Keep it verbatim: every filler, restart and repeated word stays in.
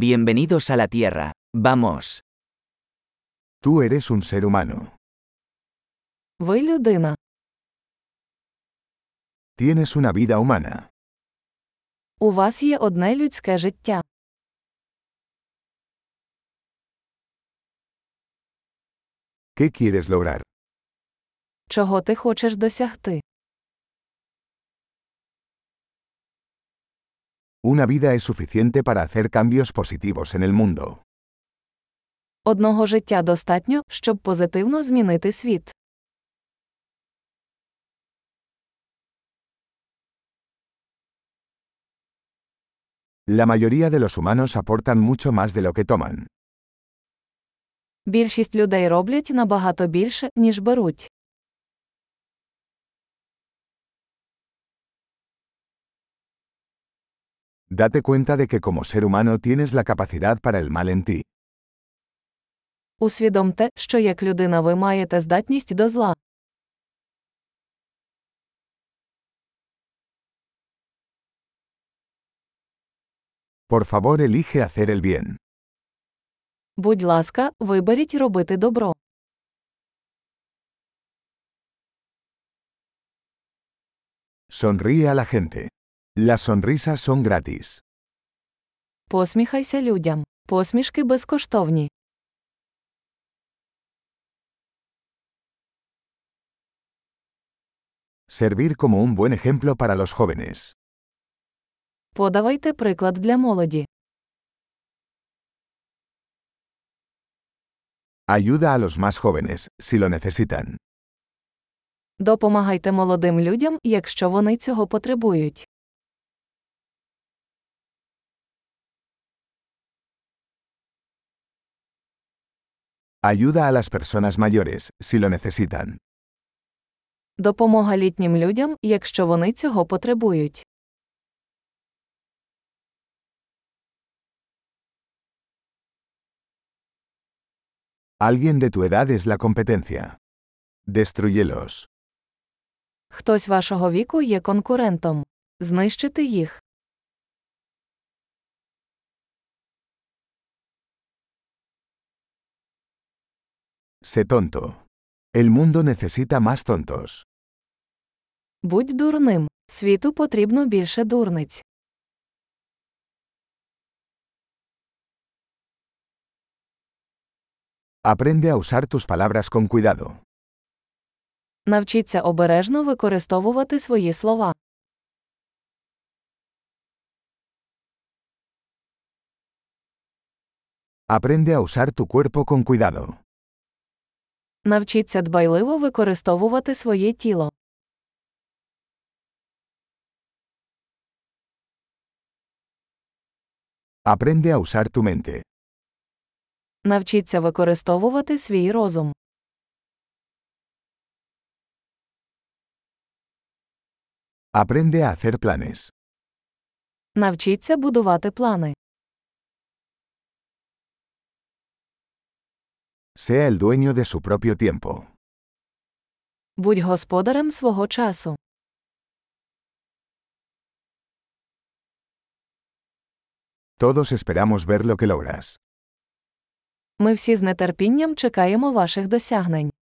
Bienvenidos a la Tierra. Vamos. Tú eres un ser humano. Ви людина. Tienes una vida humana. У вас є одне людське життя. ¿Qué quieres lograr? Чого ти хочеш досягти? Una vida es suficiente para hacer cambios positivos en el mundo. Одного життя достатньо, щоб позитивно змінити світ. La mayoría de los humanos aportan mucho más de lo que toman. Більшість людей роблять набагато більше, ніж беруть. Date cuenta de que como ser humano tienes la capacidad para el mal en ti. Усвідомте, що як людина ви маєте здатність до зла. Por favor, elige hacer el bien. Будь ласка, виберіть робити добро. Sonríe a la gente. Las sonrisas son gratis. Посміхайся людям. Посмішки безкоштовні. Servir como un buen ejemplo para los jóvenes. Подавайте приклад для молоді. Ayuda a los más jóvenes, si lo necesitan. Допомагайте молодим людям, якщо вони цього потребують. Ayuda a las personas mayores, si lo necesitan. Допомога літнім людям, якщо вони цього потребують. Alguien de tu edad es la competencia. Destruyelos. Хтось вашого віку є конкурентом. Знищити їх. Sé tonto. El mundo necesita más tontos. Будь дурним. Світу потрібно більше дурниць. Aprende a usar tus palabras con cuidado. Навчіться обережно використовувати свої слова. Aprende a usar tu cuerpo con cuidado. Навчіться дбайливо використовувати своє тіло. Aprende a usar tu mente. Навчіться використовувати свій розум. Aprende a hacer planes. Навчіться будувати плани. Sea el dueño de su propio tiempo. Будь господарем свого часу. Todos esperamos ver lo que logras. Ми всі з нетерпінням чекаємо ваших досягнень.